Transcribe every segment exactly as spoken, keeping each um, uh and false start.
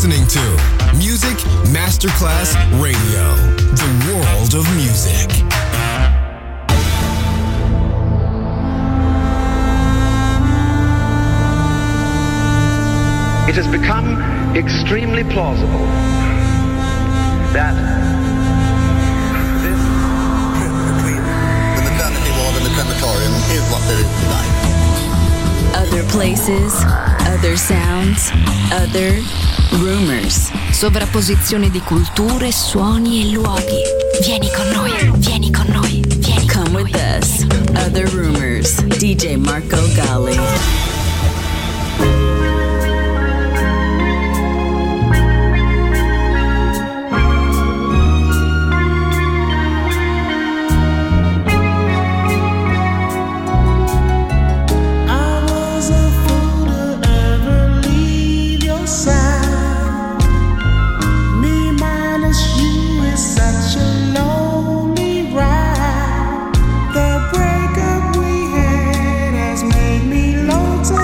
listening to Music Masterclass Radio, the world of music. It has become extremely plausible that this trip between the maternity ward and the crematorium is what there is tonight. Other places, other sounds, other rumors. Sovrapposizione di culture, suoni e luoghi. Vieni con noi, vieni con noi, vieni con Come with us. Other Rumors. D J Marco Gally. Long time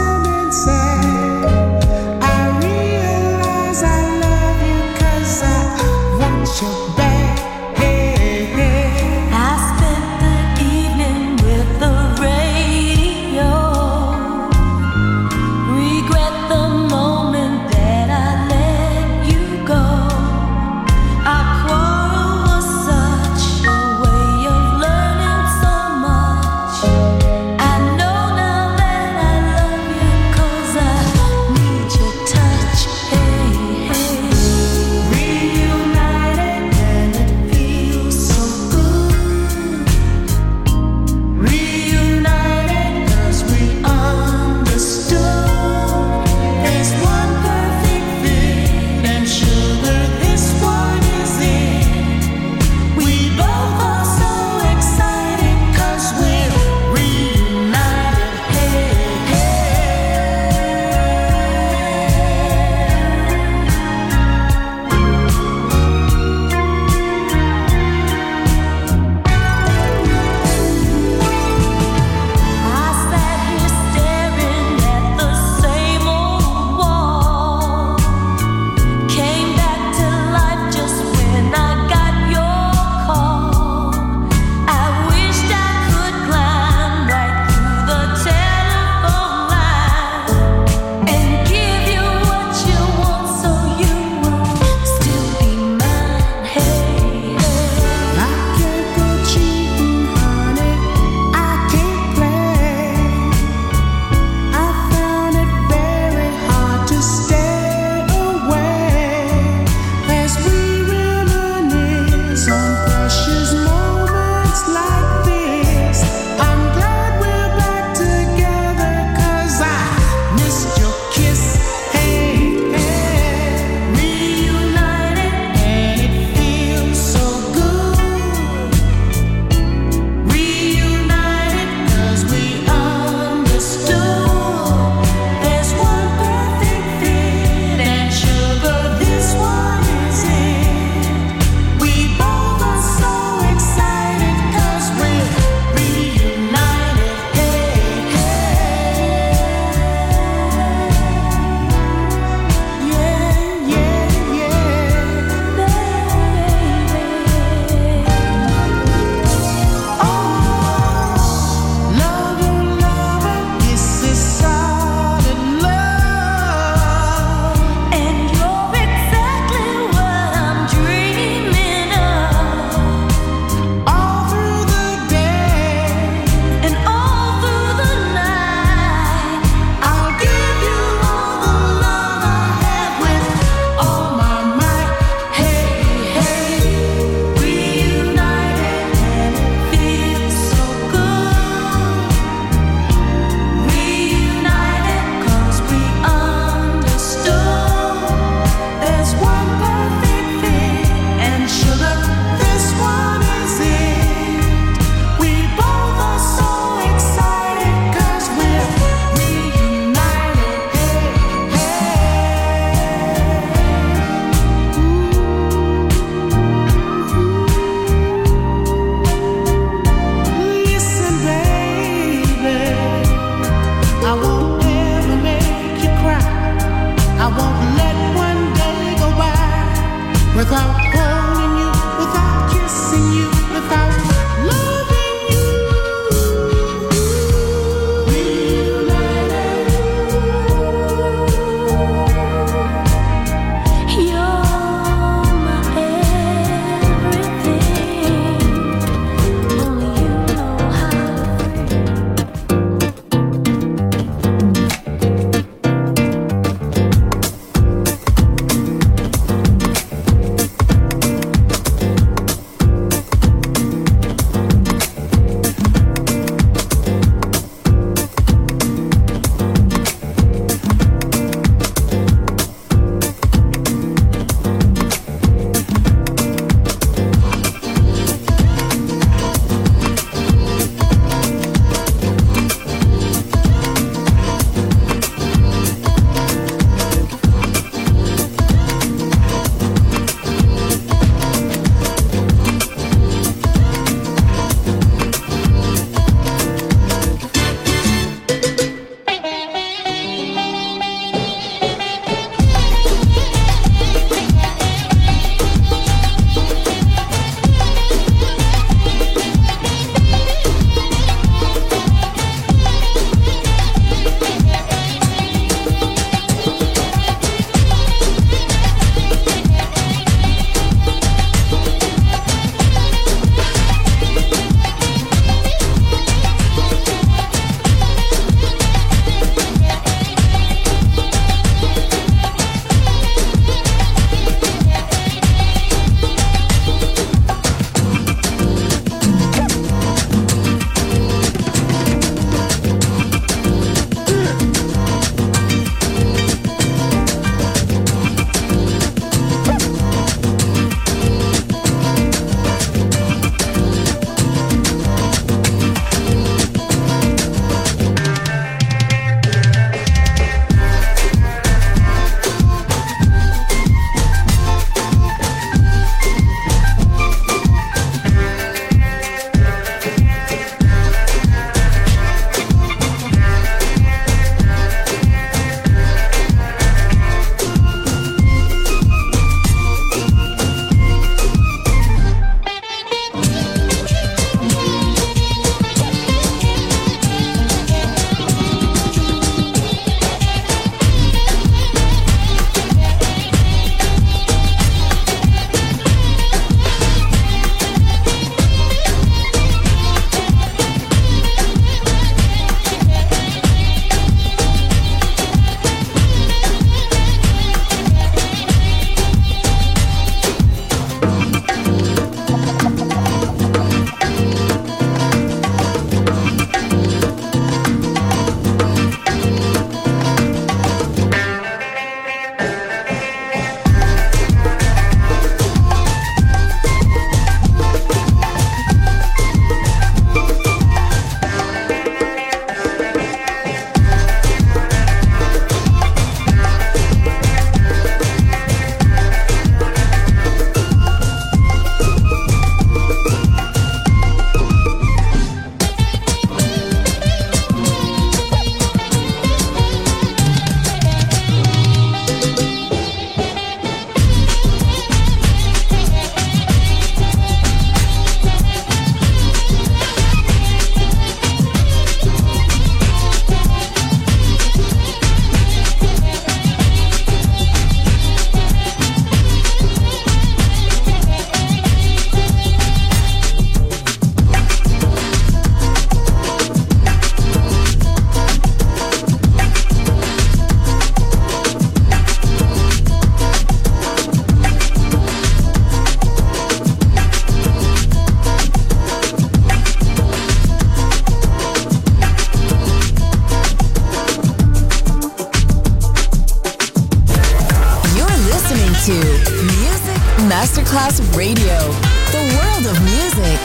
to Music Masterclass Radio, the world of music.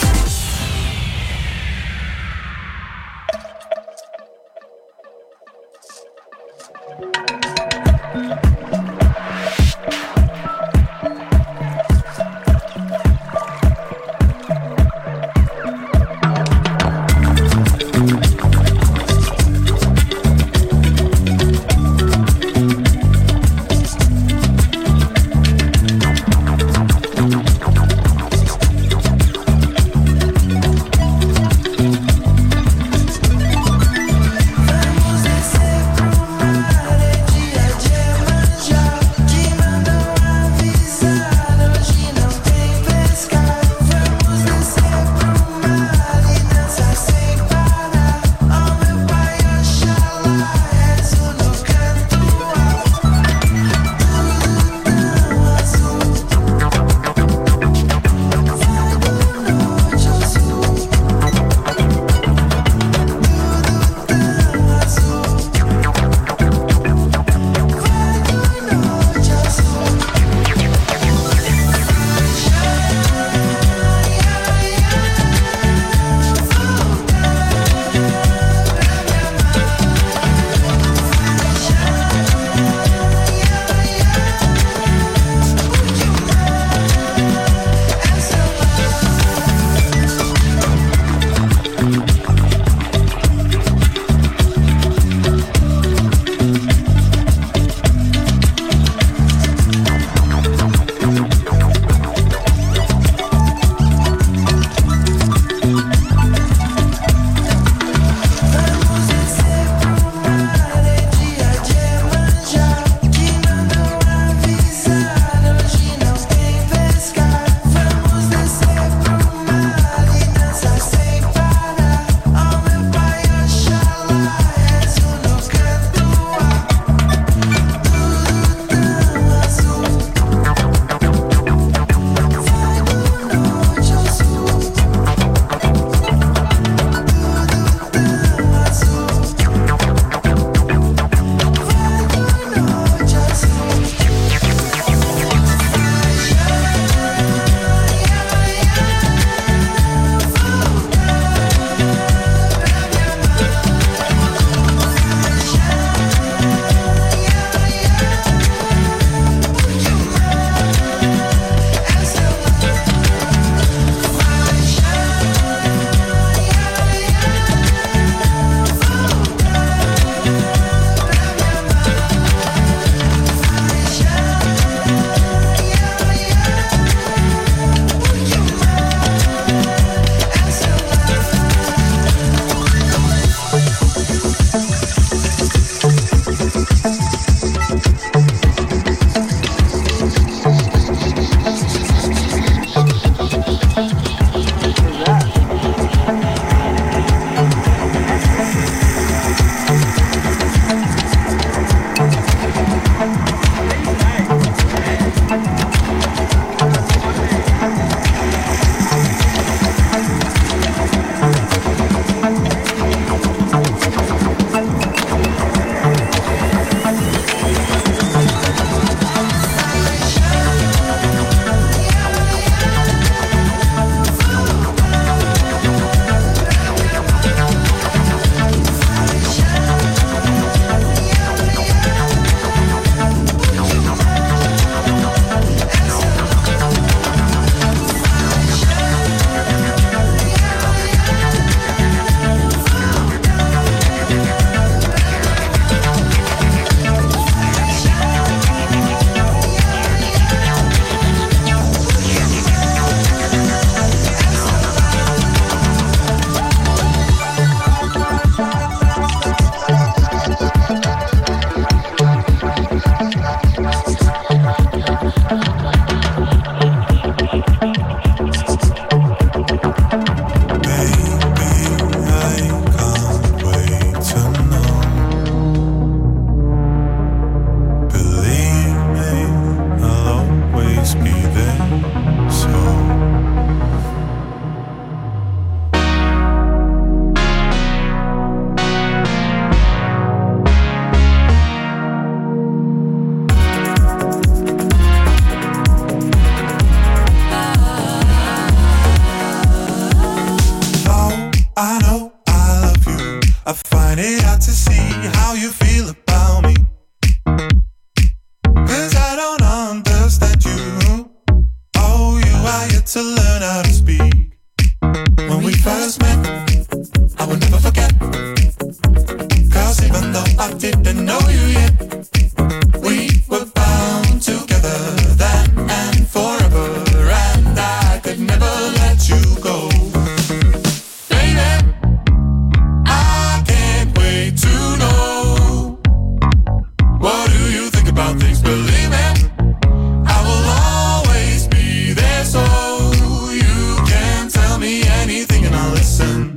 believe it. I will always be there, so you can tell me anything and I'll listen.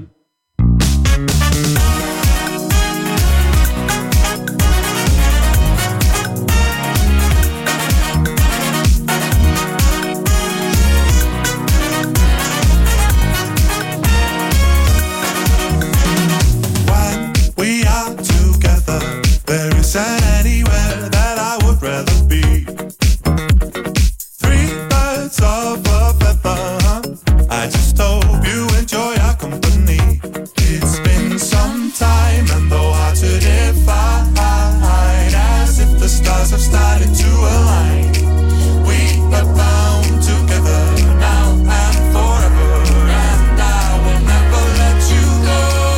Isn't anywhere that I would rather be. Three birds of a feather. I just hope you enjoy our company. It's been some time and though hard to define, as if the stars have started to align. We are bound together now and forever, and I will never let you go.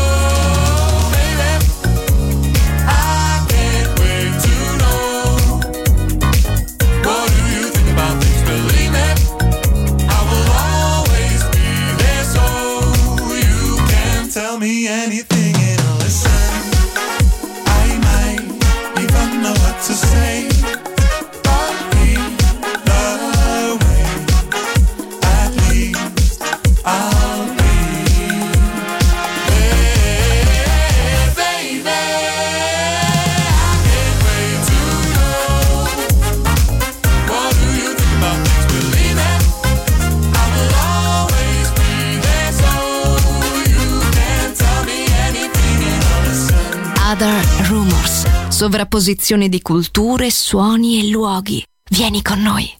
Tell me anything and I'll listen. I might even know what to say. But either way, at least I'll be there, baby. I can't wait to know. What do you think about things? Believe it. I will always be there, so Other Rumors, sovrapposizione di culture, suoni e luoghi. Vieni con noi.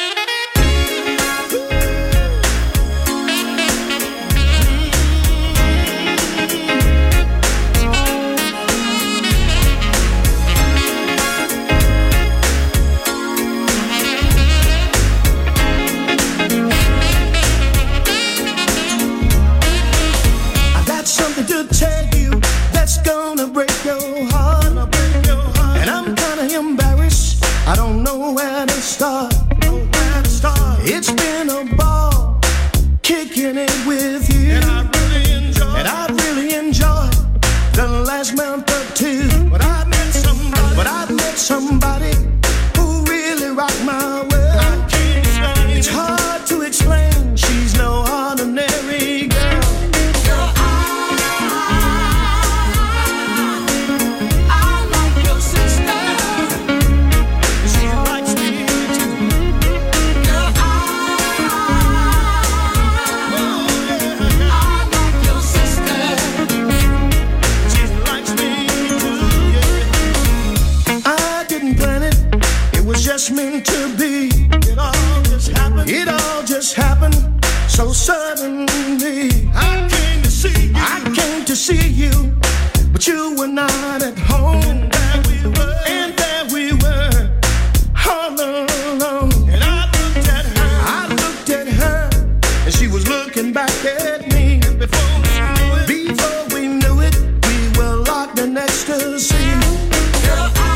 I got something to tell you that's gonna break your heart, and I'm kinda embarrassed. I don't know where to start. It's been a ball kicking it with you, and I really enjoyed, and I really enjoyed the last month or two. But I met somebody, but I met somebody who really rocked my world. I can't explain. It's hard to explain. She's no ordinary girl. Just meant to be. It all just happened. It all just happened so suddenly. I came to see you. I came to see you, but you were not at home. And there we were. And there we were, all alone. And I looked at her. I looked at her, and she was looking back at me. And before we knew it, before we knew it, we were locked in ecstasy. Girl, I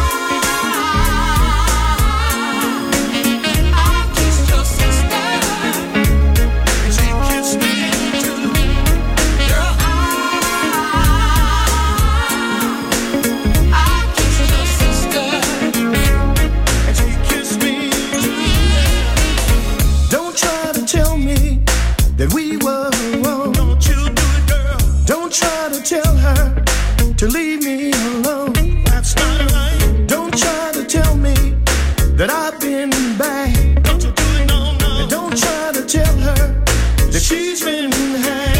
that we were wrong. Don't you do it, girl. Don't try to tell her to leave me alone. That's not right. Don't try to tell me that I've been bad. Don't you do it, no, no. And don't try to tell her that she's been had.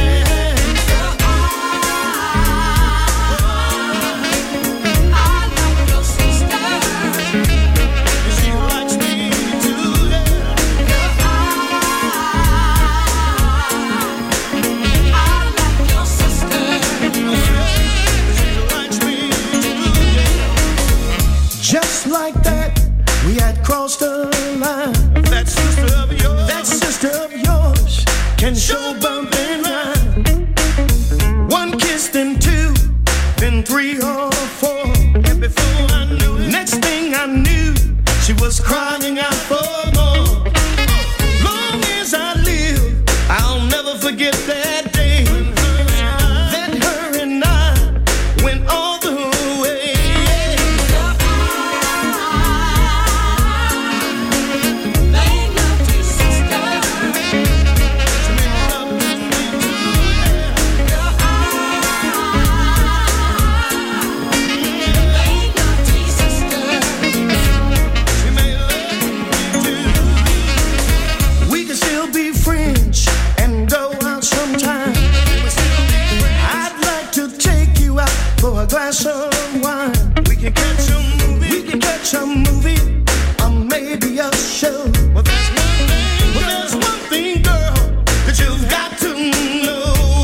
Just like that, we had crossed the line. That sister of yours, that sister of yours can show bump and rhyme. One kiss, then two, then three or four. And before I knew it, next thing I knew, she was crying out for more. Long as I live, I'll never forget that day. That her and I went all the way. show. Well, there's one thing, well, there's one thing, girl, that you've got to know.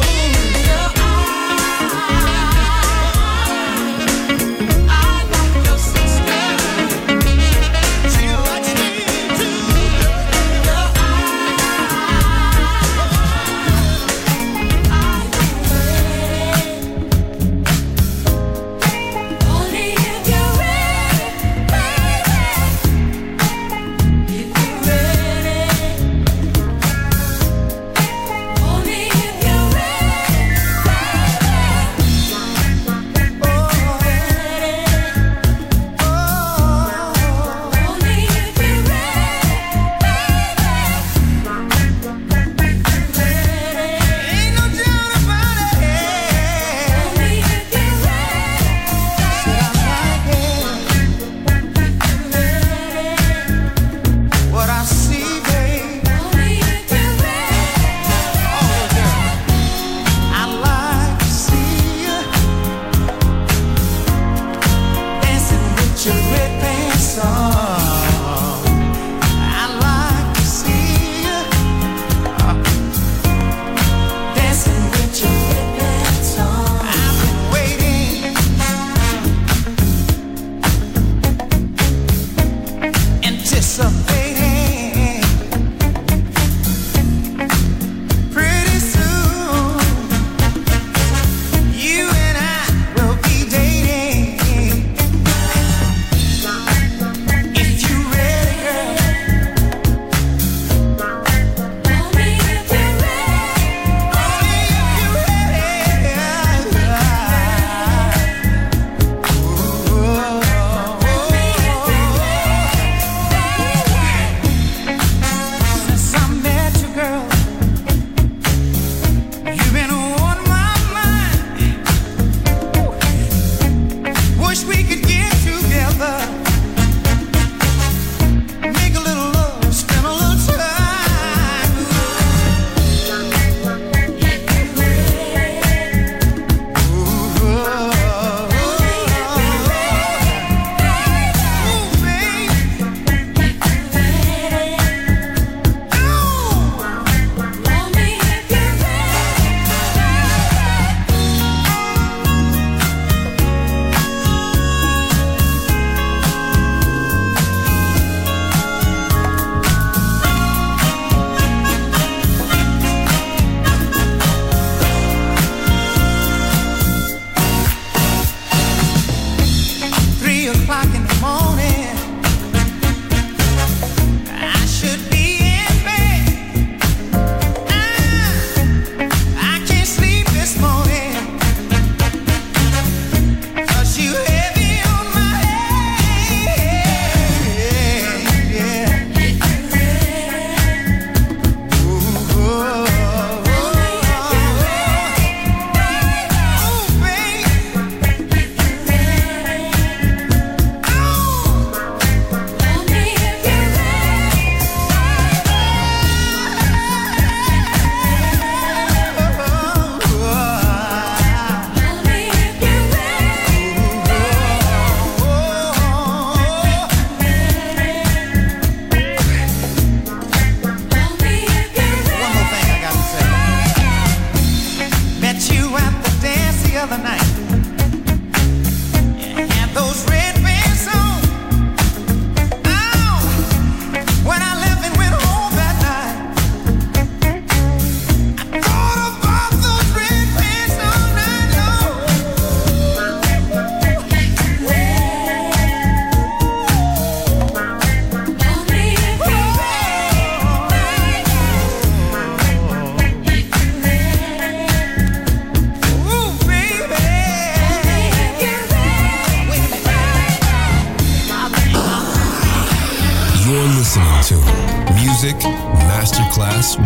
Music Masterclass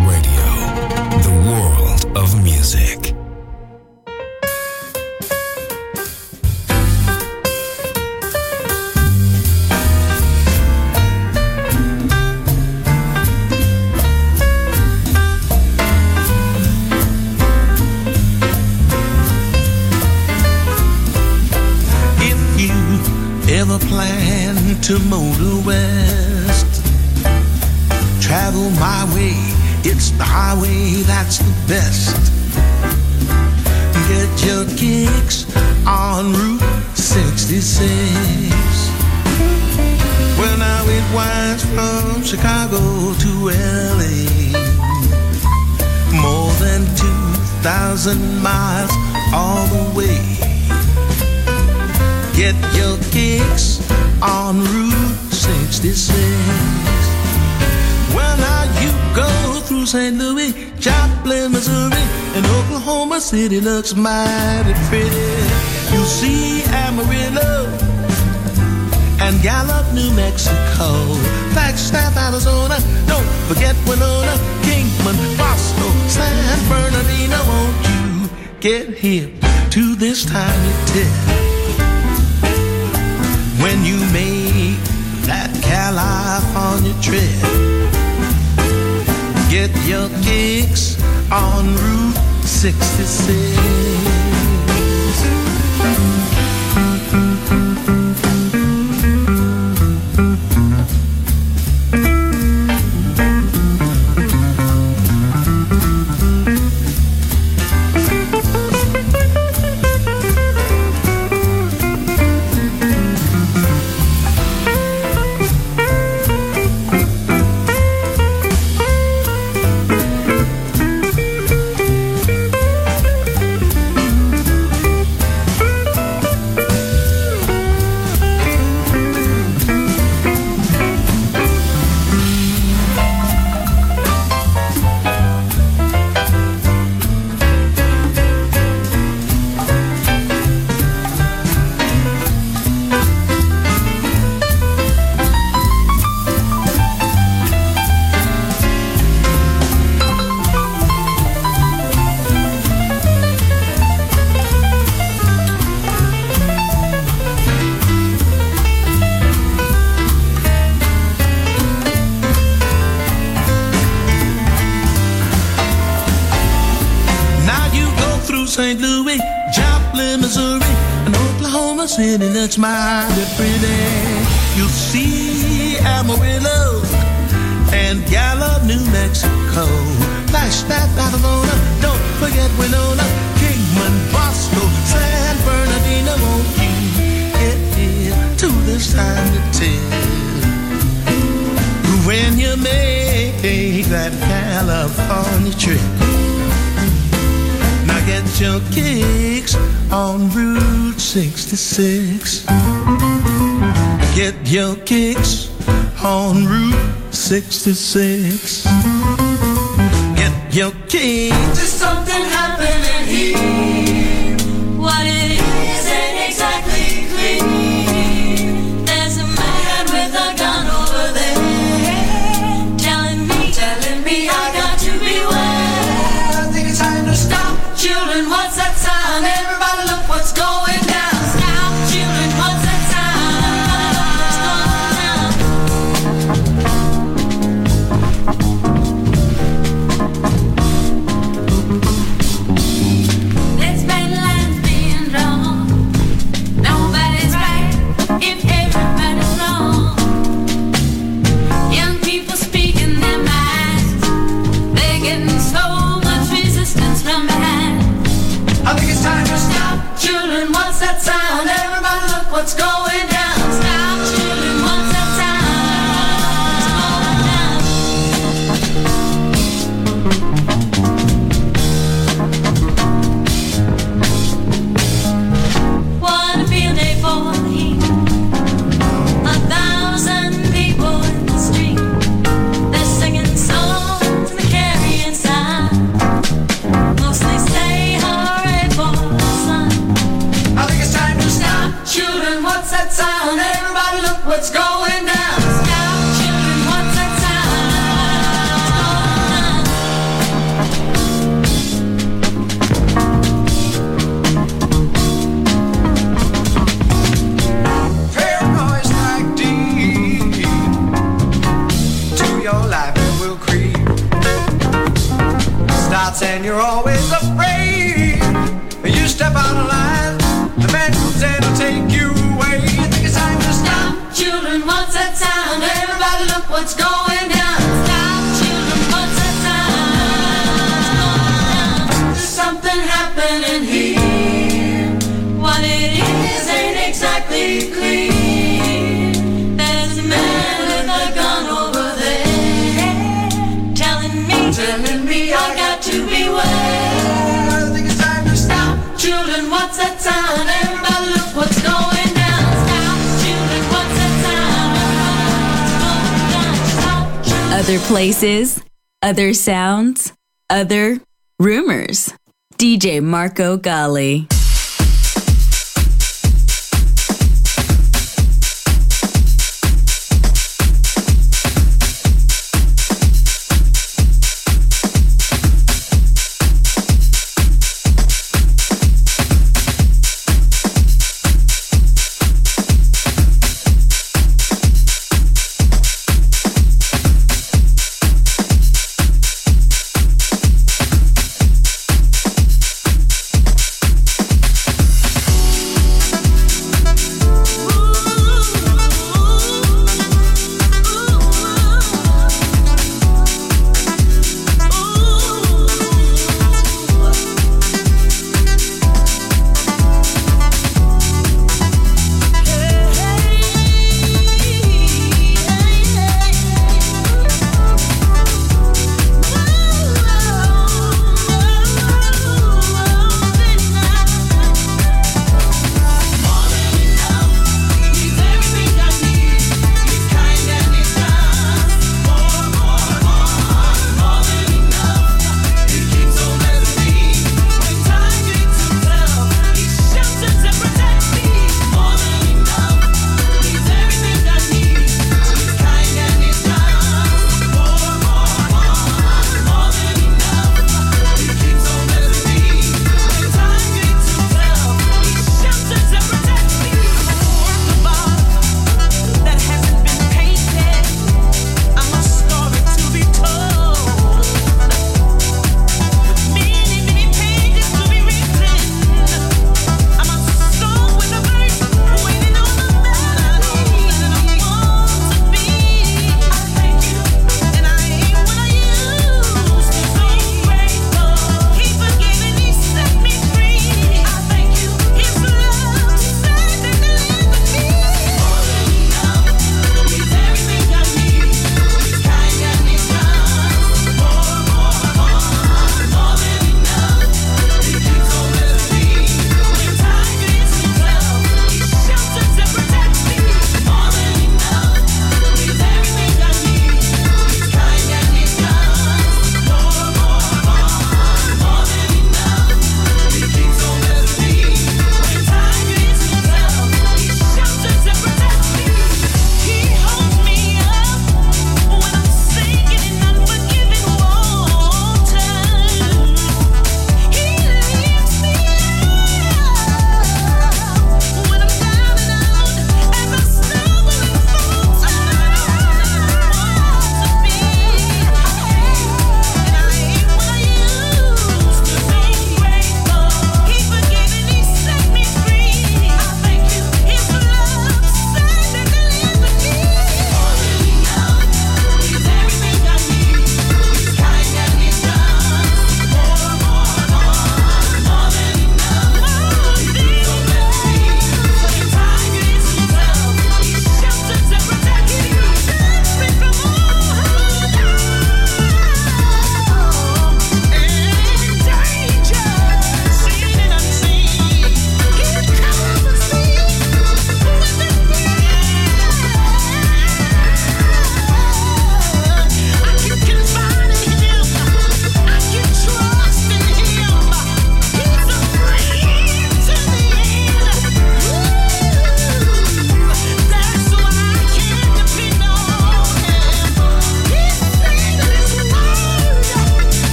Radio, the world of music. If you ever plan to motor west, travel my way. It's the highway that's the best. Get your kicks on Route sixty-six. Well, now it winds from Chicago to L A, more than two thousand miles all the way. Get your kicks on Route sixty-six. Well, now you go through Saint Louis, Joplin, Missouri, and Oklahoma City looks mighty pretty. You'll see Amarillo and Gallup, New Mexico, Flagstaff, Arizona, don't forget Winona, Kingman, Bosco, San Bernardino. Won't you get hip to this tiny tip when you make that California trip? Get your kicks on Route sixty-six. Saint Louis, Joplin, Missouri, and Oklahoma City looks mighty pretty. You'll see Amarillo and Gallup, New Mexico, Flagstaff, Arizona, don't forget Winona, Kingman, Bosco, San Bernardino. Won't you get here to this time to tell when you make that California trip? Get your kicks on Route sixty-six. Get your kicks on Route sixty-six. Get your kicks. There's something happening here. What it is ain't exactly clear. There's a man with a gun over there, telling me, telling me I got to beware. I think it's time to stop. Children, what's that sound? Everybody look what's going down. Stop, children, what's that sound? Let's spend lines being drawn. Nobody's right if everybody's wrong. Young people speaking their minds. They're getting so much resistance from behind. I think it's time to stop. Children, what's that sound? Everybody look what's going down. Stop, children, what's that sound? What a field day for the heat. A thousand people in the street. They're singing songs and they're carrying signs. Mostly say hooray for the sun. I think it's time to stop. Children, what's that sound? Everybody look what's going down. Stop, children, what's that Paranoia's like deep to your life it will creep. Starts and you're always afraid. You step out of line, the man comes in to take you away. I think it's time to stop. Children, what's that sound? Everybody look what's going down. Stop, children. telling me I got to beware. I think it's time to stop. Children, what's that sound? Everybody look what's going down. Stop, children, what's that sound? Everybody look what's going down. Stop, children. Other places, other sounds, other rumors. D J Marco Gally.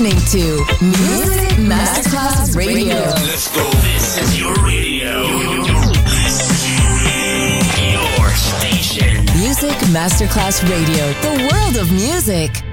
listening to Music Masterclass Radio. Let's go. This is your radio. Your station. Music Masterclass Radio. The world of music.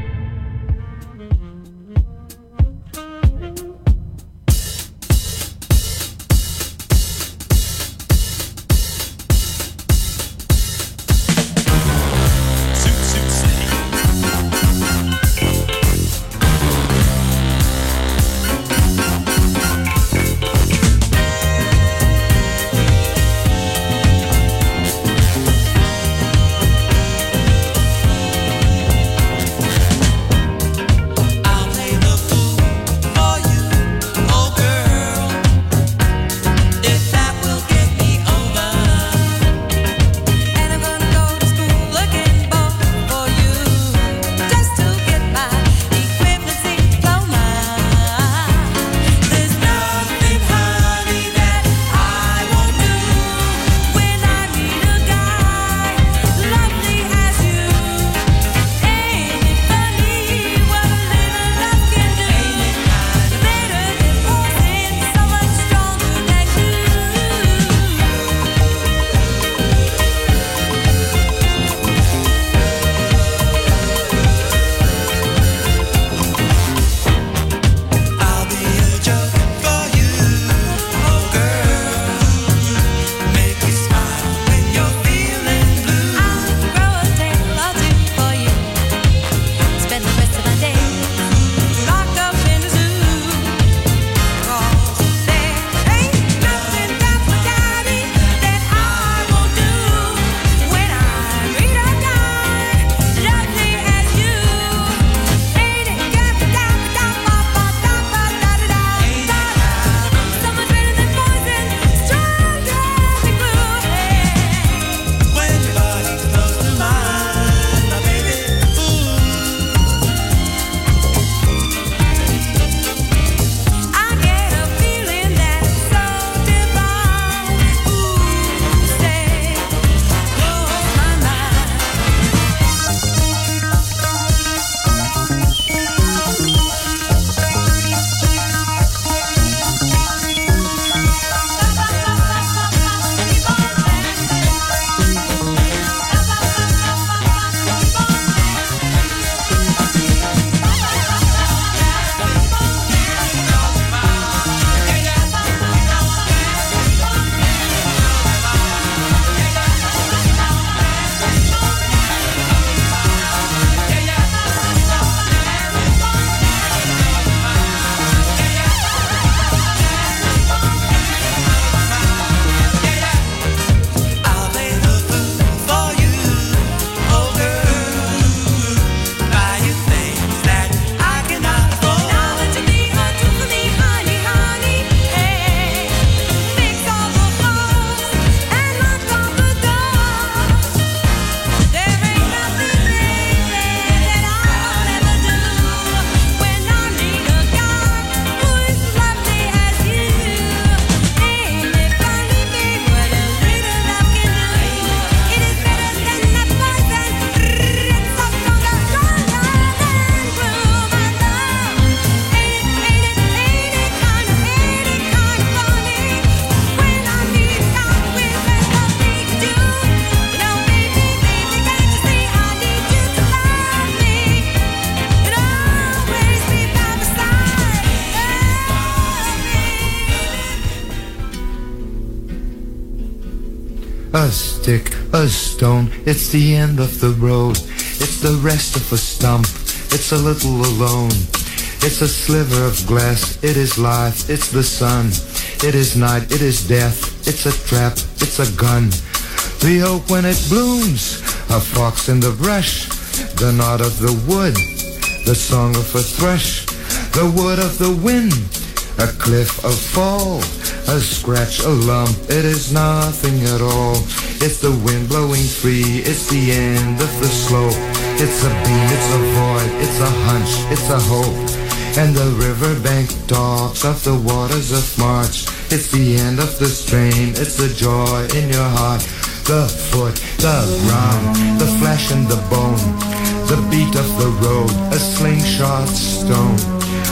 A stick, a stone, it's the end of the road. It's the rest of a stump, it's a little alone. It's a sliver of glass, it is life, it's the sun. It is night, it is death, it's a trap, it's a gun. The oak when it blooms, a fox in the brush. The nod of the wood, the song of a thrush. The wood of the wind, a cliff, a fall. A scratch, a lump, it is nothing at all. It's the wind blowing free, it's the end of the slope. It's a beam, it's a void, it's a hunch, it's a hope. And the riverbank talks of the waters of March. It's the end of the strain, it's the joy in your heart. The foot, the ground, the flesh and the bone. The beat of the road, a slingshot stone.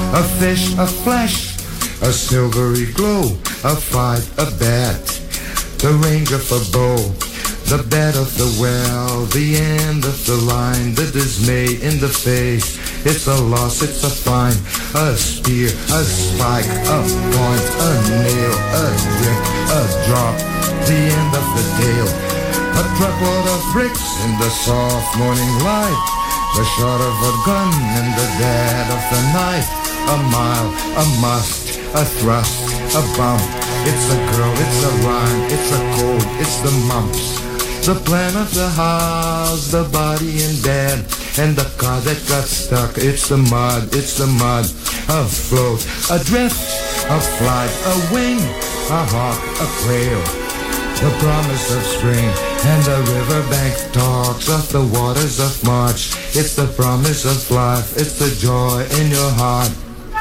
a fish, a flash, a silvery glow, a fight, a bat, the range of a bow, the bed of the well, the end of the line, the dismay in the face. It's a loss, it's a fine, a spear, a spike, a point, a nail, a drink, a drop, the end of the tale. A truckload of bricks in the soft morning light, the shot of a gun in the dead of the night. A mile, a must, a thrust, a bump. It's a girl, it's a rhyme, it's a code, it's the mumps. The plan of the house, the body in bed, and the car that got stuck. It's the mud, it's the mud. A float, a drift, a flight, a wing, a hawk, a quail. The promise of spring, and the riverbank talks of the waters of March. It's the promise of life, it's the joy in your heart.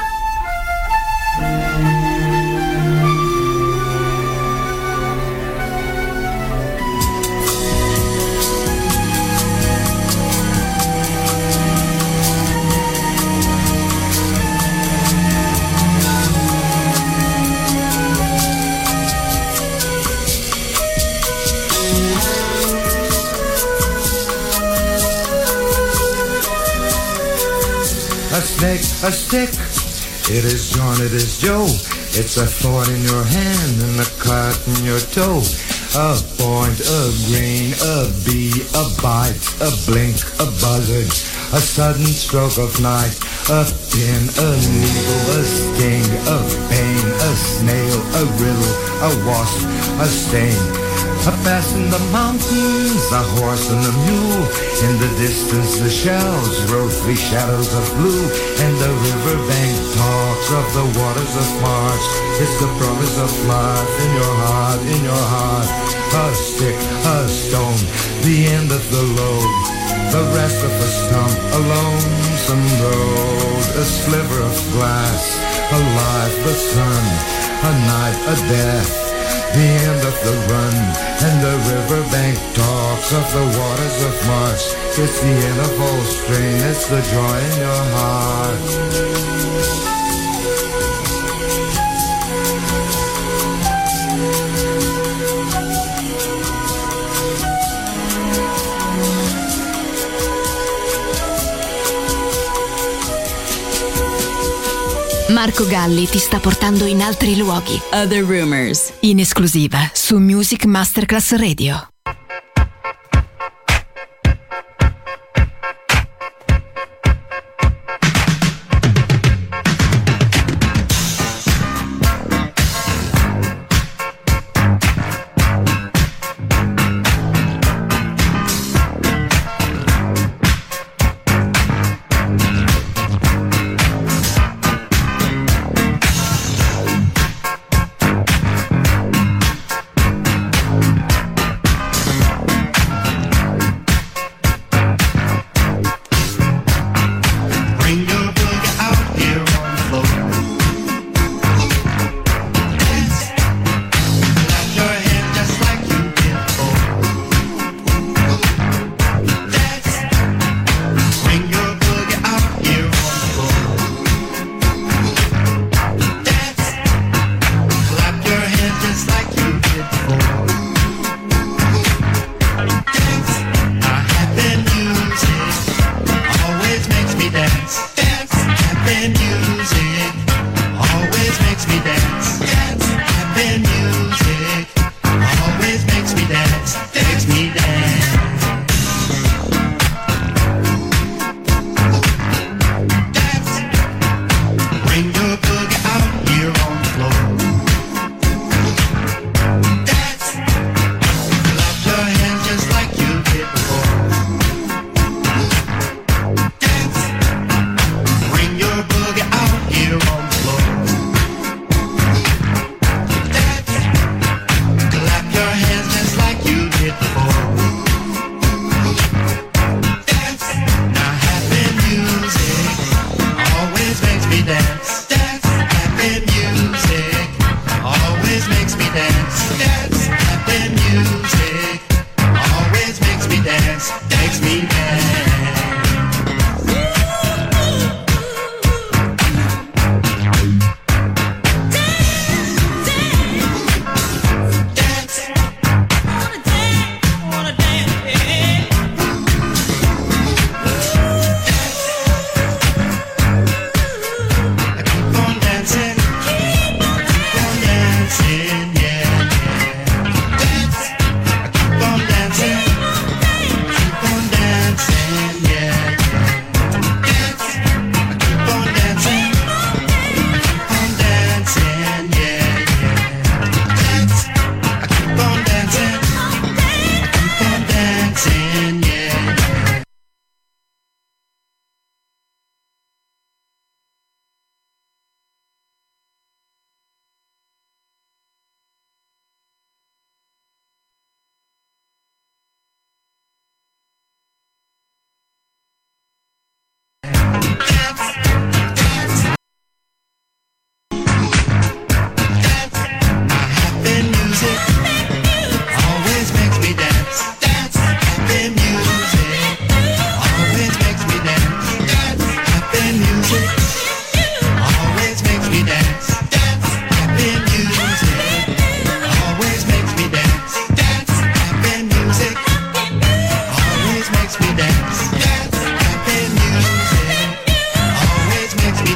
A snake, a stick, it is John, it is Joe. It's a thorn in your hand and a cut in your toe. A point, a grain, a bee, a bite, a blink, a buzzard, a sudden stroke of night. A pin, a needle, a sting, a pain, a snail, a riddle, a wasp, a stain. A pass in the mountains, a horse and a mule. In the distance the shells rose three shadows of blue. And the riverbank talks of the waters of March. It's the promise of life in your heart, in your heart. A stick, a stone, the end of the load, the rest of a stump, a lonesome road. A sliver of glass, a life, the sun, a night, a death, the end of the run. And the riverbank talks of the waters of March. It's the end of all spring, it's the joy in your heart. Marco Galli ti sta portando in altri luoghi. Other Rumors, in esclusiva su Music Masterclass Radio.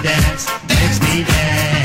dance, makes me dance.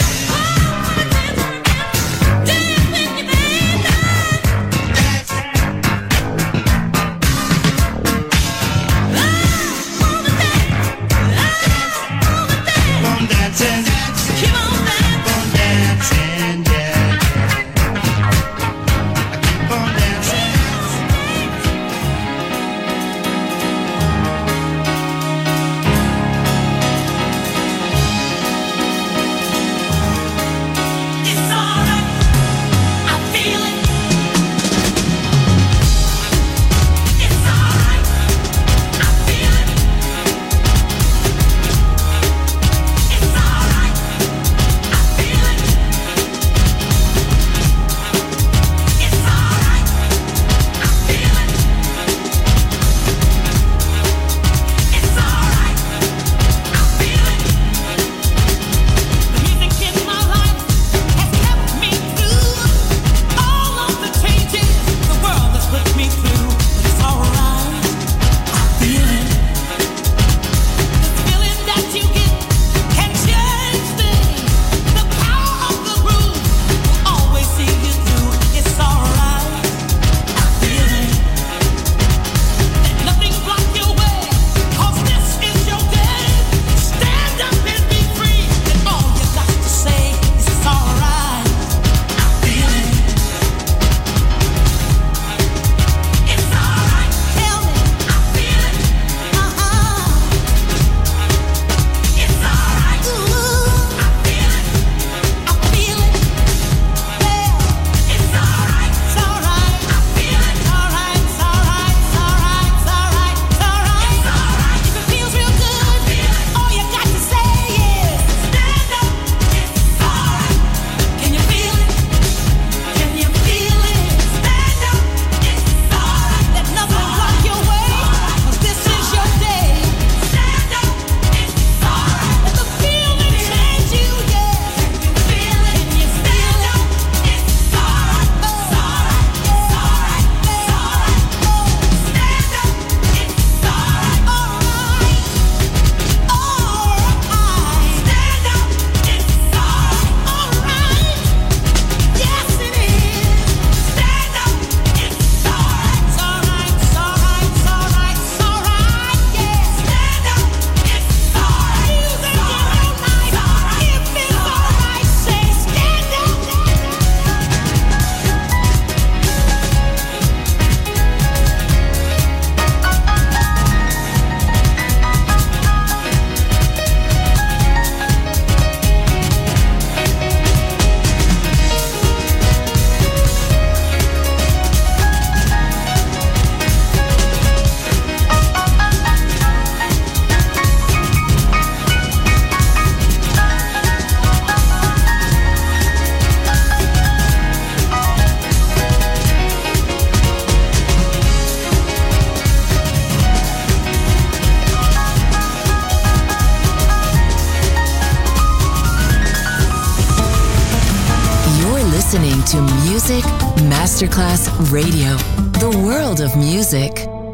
listening to Music Masterclass Radio, the world of music.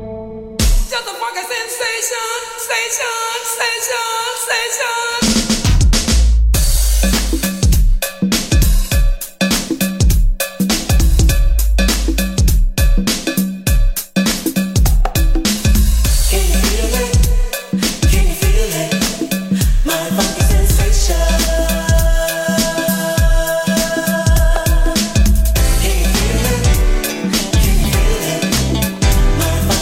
Just a fucking sensation, sensation, sensation, sensation. My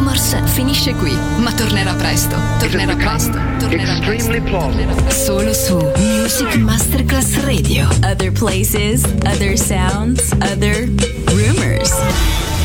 Rumors finisce qui, ma tornerà presto. Tornerà presto. Tornerà Extremely presto. plausible. Solo su Music Masterclass Radio. Other places, other sounds, other rumors.